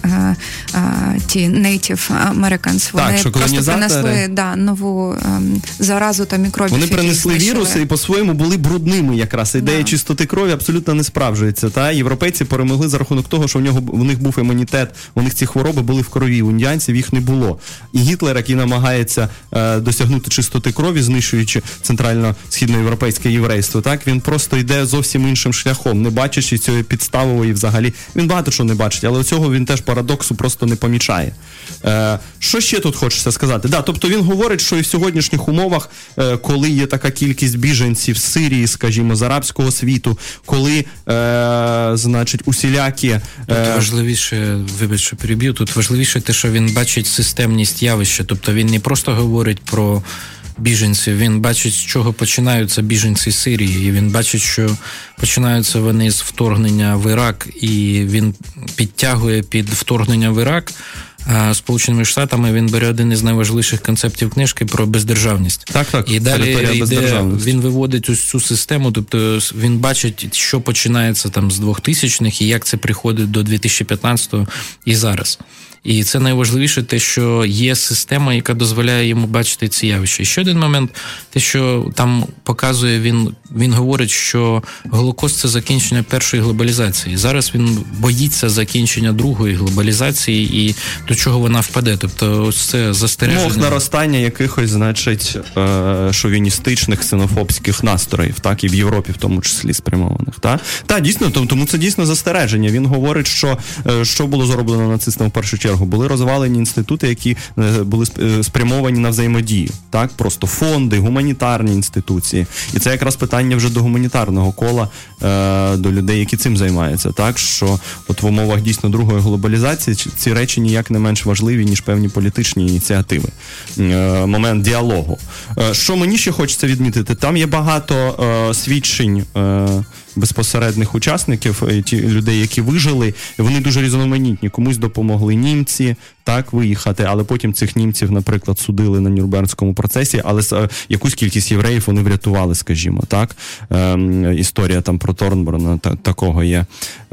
E: ті Native Americans. Вони просто принесли нову заразу та мікробів.
D: Вони принесли віруси і по-своєму були брудними якраз. Ідея чистоти крові абсолютно не справджується. Та? Європейці перемогли за рахунок того, що у них був імунітет, у них ці хвороби були в крові, у індіанців їх не було. І Гітлер, який намагається досягнути чистоти крові, знищуючи центрально-східноєвропейське єврейство, так, він просто йде зовсім іншим шляхом, не бачачи цієї підставової взагалі. Він багато що не бачить, але цього він теж парадоксу просто не помічає. Що ще тут хочеться сказати? Тобто він говорить, що і в сьогоднішніх умовах, коли є така кількість біженців з Сирії, скажімо, з арабського світу, коли, значить, усілякі...
F: Тут важливіше, вибач, що переб'ю, тут важливіше те, що він бачить системність явища, тобто він не просто говорить про біженців, він бачить, з чого починаються біженці з Сирії, і він бачить, що починаються вони з вторгнення в Ірак, і він підтягує під вторгнення в Ірак Сполученими Штатами, він бере один із найважливіших концептів книжки про бездержавність.
D: Так.
F: І далі він виводить ось цю систему, тобто він бачить, що починається там з 2000-х і як це приходить до 2015-го і зараз. І це найважливіше те, що є система, яка дозволяє йому бачити ці явища. І ще один момент, те, що там показує, він говорить, що Голокост – це закінчення першої глобалізації. Зараз він боїться закінчення другої глобалізації і до чого вона впаде. Тобто ось це застереження.
D: Мов наростання якихось, значить, шовіністичних, ксенофобських настроїв, так, і в Європі в тому числі спрямованих. Так, дійсно, тому це дійсно застереження. Він говорить, що було зроблено нацистами в першу чергу. Були розвалені інститути, які були спрямовані на взаємодію. Так? Просто фонди, гуманітарні інституції. І це якраз питання вже до гуманітарного кола, до людей, які цим займаються. Так? Що от в умовах дійсно другої глобалізації ці речі ніяк не менш важливі, ніж певні політичні ініціативи. Момент діалогу. Що мені ще хочеться відмітити? Там є багато свідчень безпосередніх учасників, ті людей, які вижили, вони дуже різноманітні. Комусь допомогли німці, так, виїхати, але потім цих німців, наприклад, судили на Нюрнберзькому процесі, але якусь кількість євреїв вони врятували, скажімо, так. Історія там про Торнборна такого є.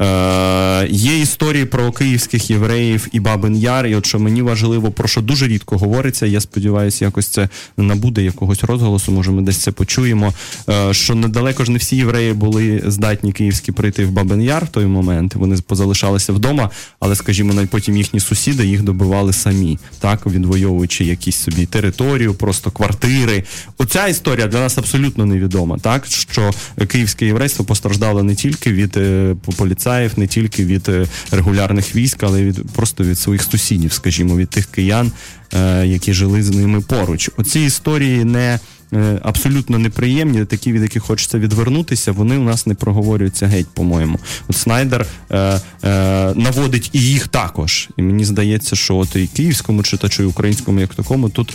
D: Є історії про київських євреїв і Бабин Яр, і от що мені важливо, про що дуже рідко говориться, я сподіваюся, якось це набуде якогось розголосу, може ми десь це почуємо, що недалеко ж не всі євреї були здатні київські прийти в Бабин Яр в той момент, вони позалишалися вдома, але, скажімо, навіть потім їхні сусіди їх добивали самі, так, відвоюючи якісь собі територію, просто квартири. Оця історія для нас абсолютно невідома, так, що київське єврейство постраждало не тільки від поліцаїв, не тільки від регулярних військ, але й просто від своїх сусідів, скажімо, від тих киян, які жили з ними поруч. Оці історії абсолютно неприємні, такі, від яких хочеться відвернутися, вони у нас не проговорюються геть, по-моєму. От Снайдер наводить і їх також. І мені здається, що от і київському читачу, і українському як такому, тут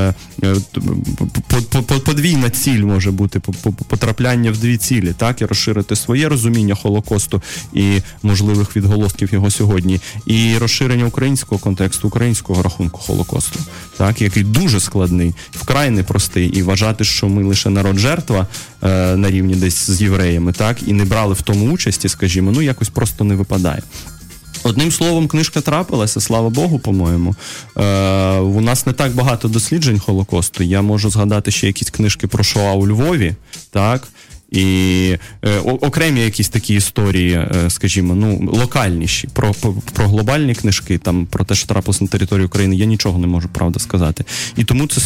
D: подвійна ціль може бути, потрапляння в дві цілі, так, і розширити своє розуміння Холокосту і можливих відголосків його сьогодні, і розширення українського контексту, українського рахунку Холокосту, так, який дуже складний, вкрай непростий, і вважати, що ми лише народ-жертва на рівні десь з євреями, так, і не брали в тому участі, скажімо, якось просто не випадає. Одним словом, книжка трапилася, слава Богу, по-моєму. У нас не так багато досліджень Холокосту. Я можу згадати ще якісь книжки про Шоа у Львові, так, і окремі якісь такі історії, скажімо, локальніші, про глобальні книжки, там, про те, що трапилося на території України, я нічого не можу, правда, сказати. І тому це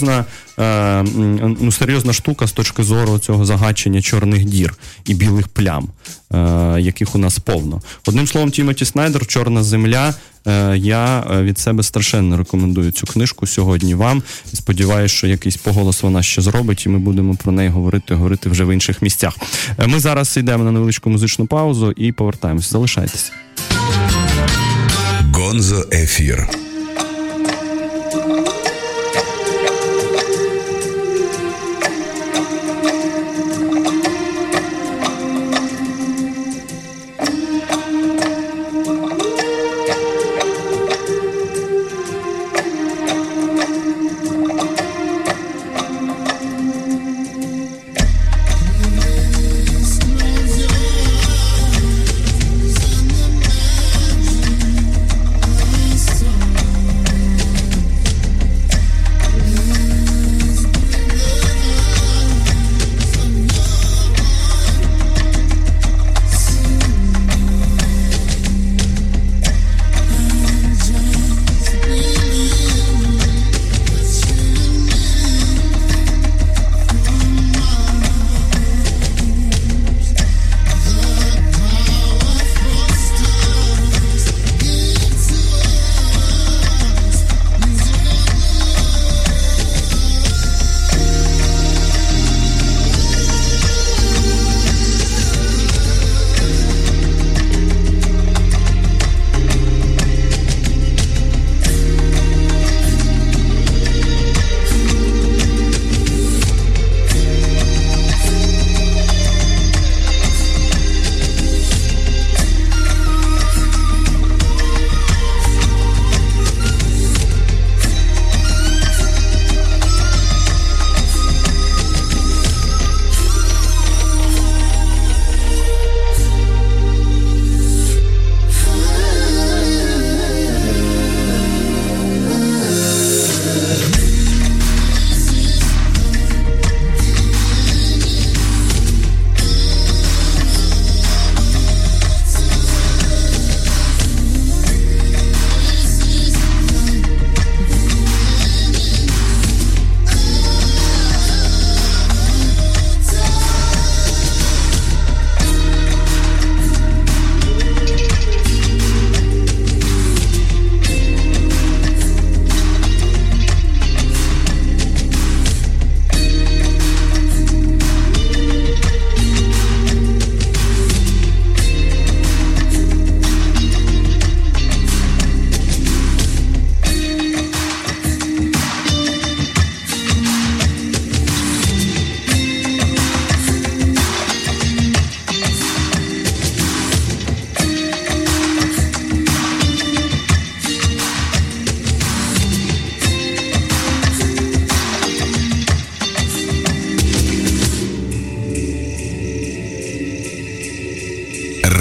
D: серйозна штука з точки зору цього загачення чорних дір і білих плям, яких у нас повно. Одним словом, Тімоті Снайдер «Чорна земля». Я від себе страшенно рекомендую цю книжку сьогодні вам. Сподіваюсь, що якийсь поголос вона ще зробить, і ми будемо про неї говорити вже в інших місцях. Ми зараз йдемо на невеличку музичну паузу і повертаємося. Залишайтеся.
C: Гонзо ефір.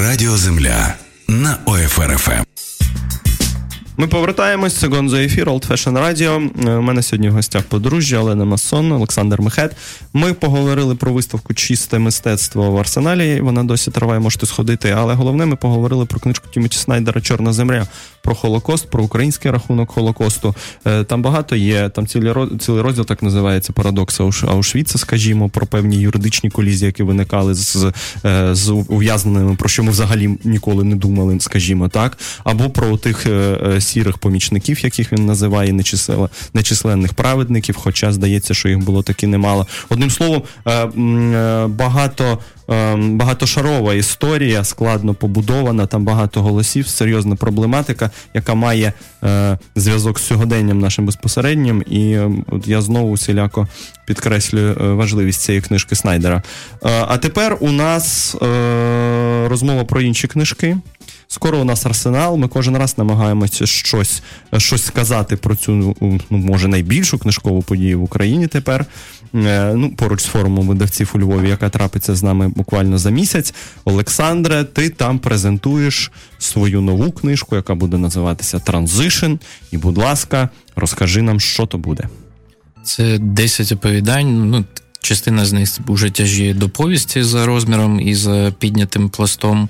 C: Радіо Земля на ОФР-ФМ.
D: Ми повертаємось. Це Гонзо ефір, Old Fashion Radio. У мене сьогодні в гостях подружжя Олена Массон, Олександр Мехет. Ми поговорили про виставку «Чисте мистецтво» в Арсеналі. Вона досі триває, можете сходити. Але головне, ми поговорили про книжку Тімоті Снайдера «Чорна земля», про Холокост, про український рахунок Холокосту. Там багато є, там цілий розділ так називається «Парадокс Аушвіца», скажімо, про певні юридичні колізії, які виникали з ув'язненими, про що ми взагалі ніколи не думали, скажімо так. Або про тих сірих помічників, яких він називає, нечисленних праведників, хоча здається, що їх було таки немало. Одним словом, багатошарова історія, складно побудована, там багато голосів, серйозна проблематика, яка має зв'язок з сьогоденням нашим безпосереднім, і от я знову усіляко підкреслюю важливість цієї книжки Снайдера. А тепер у нас розмова про інші книжки. Скоро у нас Арсенал, ми кожен раз намагаємося щось сказати про цю, може, найбільшу книжкову подію в Україні тепер, поруч з форумом видавців у Львові, яка трапиться з нами буквально за місяць. Олександре, ти там презентуєш свою нову книжку, яка буде називатися «Транзишн», і, будь ласка, розкажи нам, що то буде.
F: Це 10 оповідань, частина з них вже тяжіє до повісті за розміром і за піднятим пластом.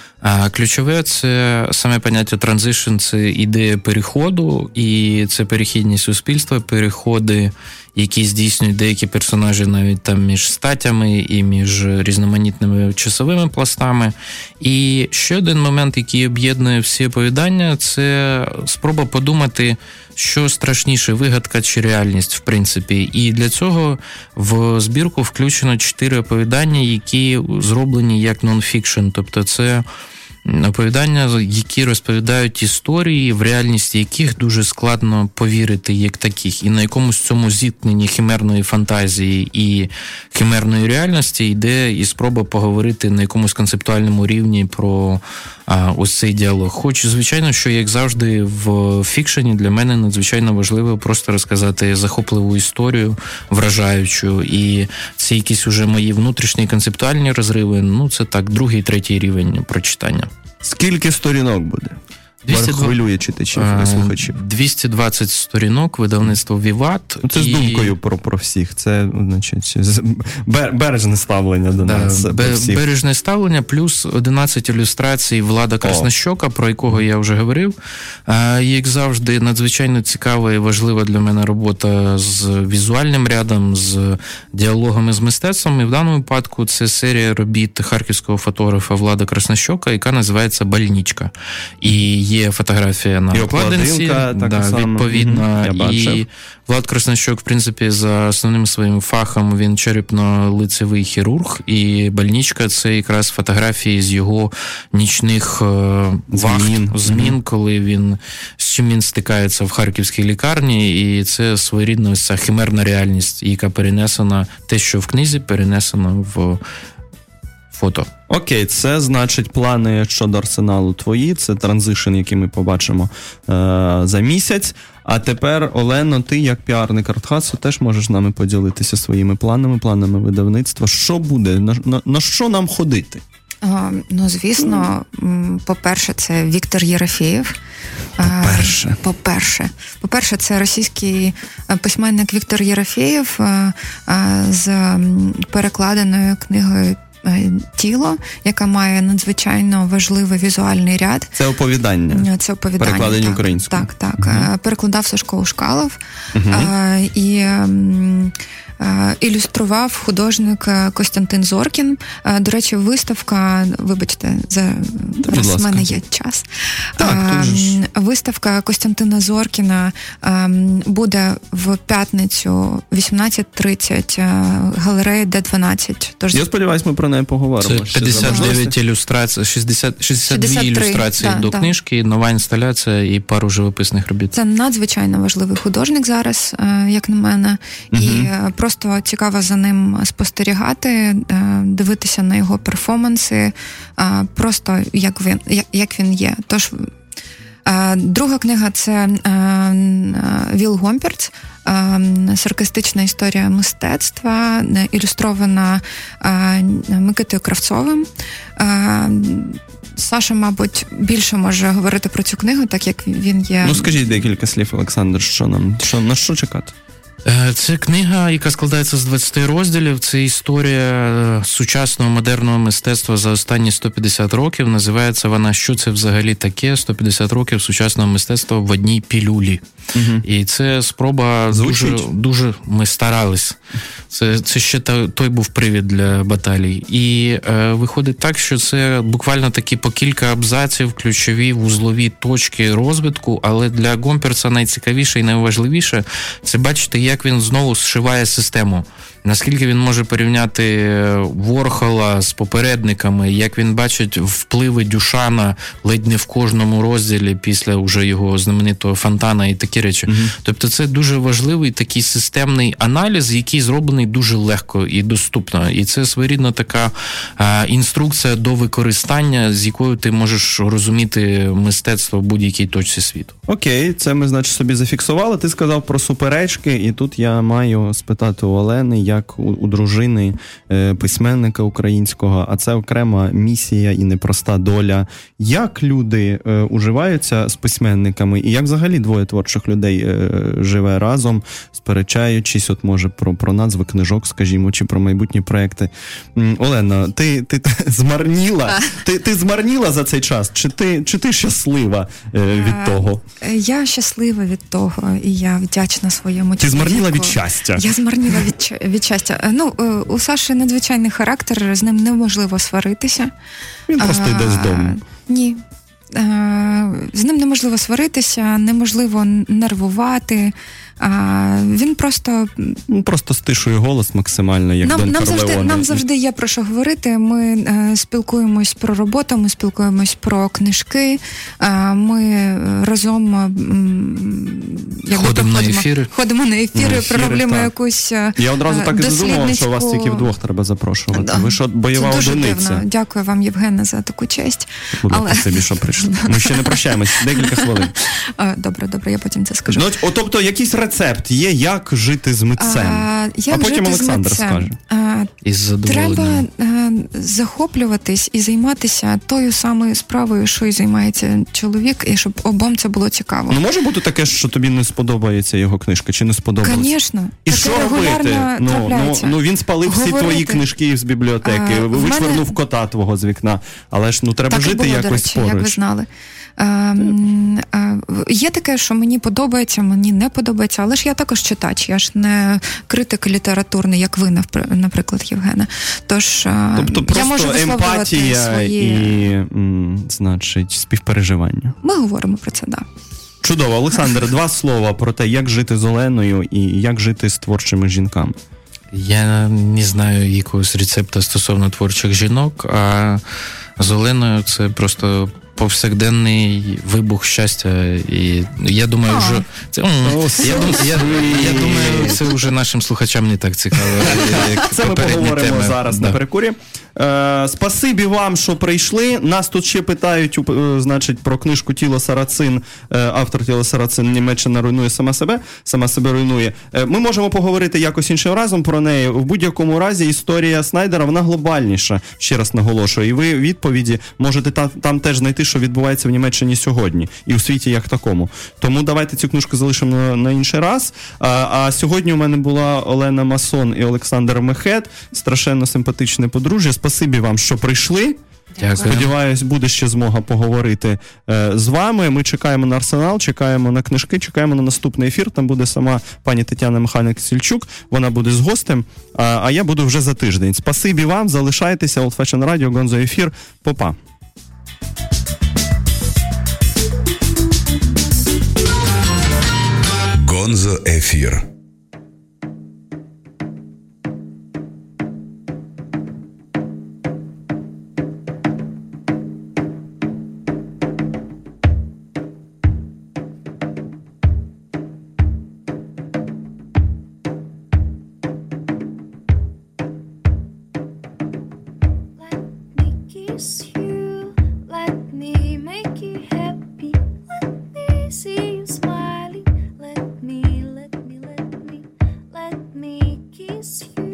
F: А ключове – це саме поняття «транзишн», це ідея переходу, і це перехідні суспільства, переходи, які здійснюють деякі персонажі навіть там між статями і між різноманітними часовими пластами. І ще один момент, який об'єднує всі оповідання – це спроба подумати, що страшніше, вигадка чи реальність, в принципі. І для цього в збірку включено 4 оповідання, які зроблені як нон-фікшн, тобто це оповідання, які розповідають історії, в реальність яких дуже складно повірити як таких. І на якомусь цьому зіткненні химерної фантазії і химерної реальності йде і спроба поговорити на якомусь концептуальному рівні про ось цей діалог. Хоч, звичайно, що, як завжди, в фікшені для мене надзвичайно важливо просто розказати захопливу історію, вражаючу, і це якісь уже мої внутрішні концептуальні розриви, це так, 2-й, 3-й рівень прочитання.
D: Скільки сторінок буде? Хвилює читачів і слухачів.
F: 220 сторінок, видавництво «Віват».
D: Це з думкою про всіх. Це, значить, бережне ставлення до нас.
F: Бережне ставлення, плюс 11 ілюстрацій Влада Краснощока, про якого я вже говорив. Як завжди, надзвичайно цікава і важлива для мене робота з візуальним рядом, з діалогами з мистецтвом. І в даному випадку це серія робіт харківського фотографа Влада Краснощока, яка називається «Больничка». І є фотографія на обкладинці, відповідно, і Влад Краснощок, в принципі, за основним своїм фахом він черепно-лицевий хірург, і «Больничка» – це якраз фотографії з його нічних змін, коли з чим він стикається в харківській лікарні, і це своєрідна ось ця химерна реальність, яка перенесена, те, що в книзі, перенесено в фото.
D: Окей, це значить плани щодо Арсеналу твої, це транзишн, який ми побачимо за місяць. А тепер, Олено, ти як піарник Артхасу теж можеш з нами поділитися своїми планами видавництва. Що буде? На що нам ходити?
E: Звісно, по-перше, це Віктор Єрофєєв. По-перше, це російський письменник Віктор Єрофєєв з перекладеною книгою «Тіло», яка має надзвичайно важливий візуальний ряд.
D: Це оповідання. Перекладені українською.
E: Так. Перекладав Сашко Ушкалов. І ілюстрував художник Костянтин Зоркін. До речі, виставка, вибачте, зараз в мене є час. Виставка Костянтина Зоркіна буде в п'ятницю 18:30, галерея Д12.
D: Я сподіваюся, ми про неї поговоримо.
F: Це 59 ілюстрацій, 62 ілюстрації до книжки, нова інсталяція і пару живописних робіт.
E: Це надзвичайно важливий художник зараз, як на мене, і просто цікаво за ним спостерігати, дивитися на його перформанси, просто як він є. Тож, друга книга – це Віл Гомперц, саркастична історія мистецтва, ілюстрована Микитою Кравцовим. Саша, мабуть, більше може говорити про цю книгу, так як він є...
D: Ну, скажіть декілька слів, Олександр, на що чекати?
F: Це книга, яка складається з 20 розділів. Це історія сучасного модерного мистецтва за останні 150 років. Називається вона «Що це взагалі таке? 150 років сучасного мистецтва в одній пілюлі». Угу. І це спроба дуже ми старались. Це ще той був привід для баталій. І виходить так, що це буквально такі по кілька абзаців, ключові вузлові точки розвитку, але для Гомперца найцікавіше і найважливіше – це бачити, як він знову зшиває систему. Наскільки він може порівняти Ворхола з попередниками, як він бачить впливи Дюшана ледь не в кожному розділі після уже його знаменитого Фонтана і такі речі. Угу. Тобто це дуже важливий такий системний аналіз, який зроблений дуже легко і доступно. І це своєрідна така інструкція до використання, з якою ти можеш розуміти мистецтво в будь-якій точці світу.
D: Окей, це ми, значить, собі зафіксували. Ти сказав про суперечки, і тут я маю спитати у Олени, як у дружини письменника українського, а це окрема місія і непроста доля. Як люди уживаються з письменниками, і як взагалі двоє творчих людей живе разом, сперечаючись, от може про назви книжок, скажімо, чи про майбутні проекти. Олена, ти змарніла? Ти змарніла за цей час? Чи ти щаслива від того?
E: Я щаслива від того, і я вдячна своєму чоловіку.
D: Ти змарніла від щастя?
E: Я змарніла від щастя. Ну, у Саші надзвичайний характер, з ним неможливо сваритися.
D: Він просто йде з дому.
E: Ні. З ним неможливо сваритися, неможливо нервувати. Він просто
D: стишує голос максимально, як Дон Корлеоне.
E: Нам завжди є про що говорити. Ми спілкуємось про роботу, ми спілкуємось про книжки, ми разом ходимо на ефіри, пророблюємо якусь
D: Я одразу так і задумав, що вас тільки вдвох треба запрошувати. Да. Ви ж бойова одиниця.
E: Дивно. Дякую вам, Євгене, за таку честь.
D: Спасибі, що прийшли. Ми ще не прощаємось. Декілька хвилин.
E: Добре, я потім це скажу.
D: Тобто якийсь рецепт є, як жити з митцем. А потім Олександр скаже.
E: Треба захоплюватись і займатися тою самою справою, що і займається чоловік, і щоб обом це було цікаво.
D: Ну, може бути таке, що тобі не сподобається його книжка, чи не сподобалось?
E: Звісно.
D: І що робити? Він спалив всі твої книжки з бібліотеки, вишвирнув кота твого з вікна, але ж треба жити якось поруч.
E: Як ви знали. Є таке, що мені подобається, мені не подобається, але ж я також читач, я ж не критик літературний, як ви, наприклад, Євгена. Тож
D: тобто
E: я можу висловлювати
D: емпатія
E: свої...
D: і, значить, співпереживання.
E: Ми говоримо про це, так.
D: Чудово. Олександр, 2 слова про те, як жити з Оленою і як жити з творчими жінками.
F: Я не знаю якогось рецепту стосовно творчих жінок, а з Оленою це просто повсякденний вибух щастя. І я думаю, я думаю, це вже нашим слухачам не так цікаво.
D: Це ми поговоримо зараз на перекурі. Спасибі вам, що прийшли. Нас тут ще питають, значить, про книжку «Тіло Сарацин». Автор «Тіло Сарацин» Німеччина руйнує сама себе руйнує. Ми можемо поговорити якось іншим разом про неї. В будь-якому разі історія Снайдера, вона глобальніша, ще раз наголошую. І ви відповіді можете там теж знайти, що відбувається в Німеччині сьогодні і у світі як такому. Тому давайте цю книжку залишимо на інший раз. А сьогодні у мене була Олена Масон і Олександр Мехет, страшенно симпатичне подружжя. Спасибі вам, що прийшли.
F: Дякую.
D: Сподіваюсь, буде ще змога поговорити з вами. Ми чекаємо на Арсенал, чекаємо на книжки, чекаємо на наступний ефір. Там буде сама пані Тетяна Михайлик-Сільчук. Вона буде з гостем, а я буду вже за тиждень. Спасибі вам, залишайтеся. Old Fashion Radio, Гонзо ефір. Попа.
C: Гонзо ефір.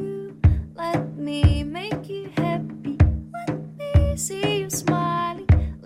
I: See you smiling.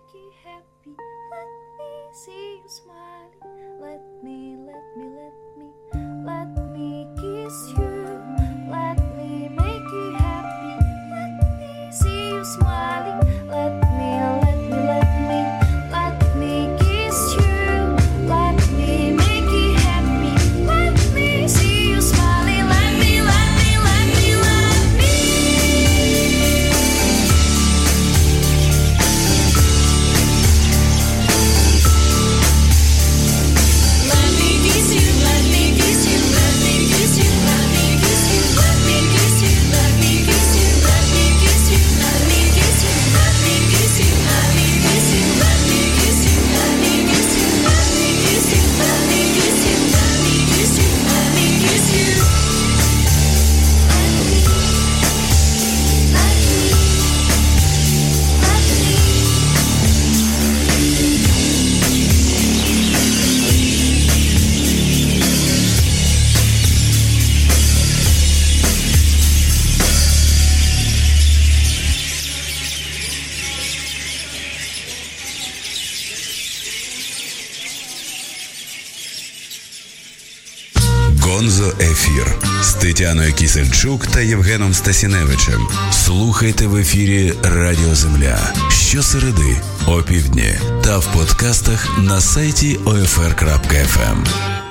I: you happy. Let me see you smiling. Let me kiss you. Let me make you happy. Let me see you smiling. Let me kiss you. Let me make you happy. Let me see you smiling. Let me.
C: Гонзо Ефір з Тетяною Кісельчук та Євгеном Стасіневичем. Слухайте в ефірі Радіо Земля щосереди о півдні та в подкастах на сайті OFR.FM.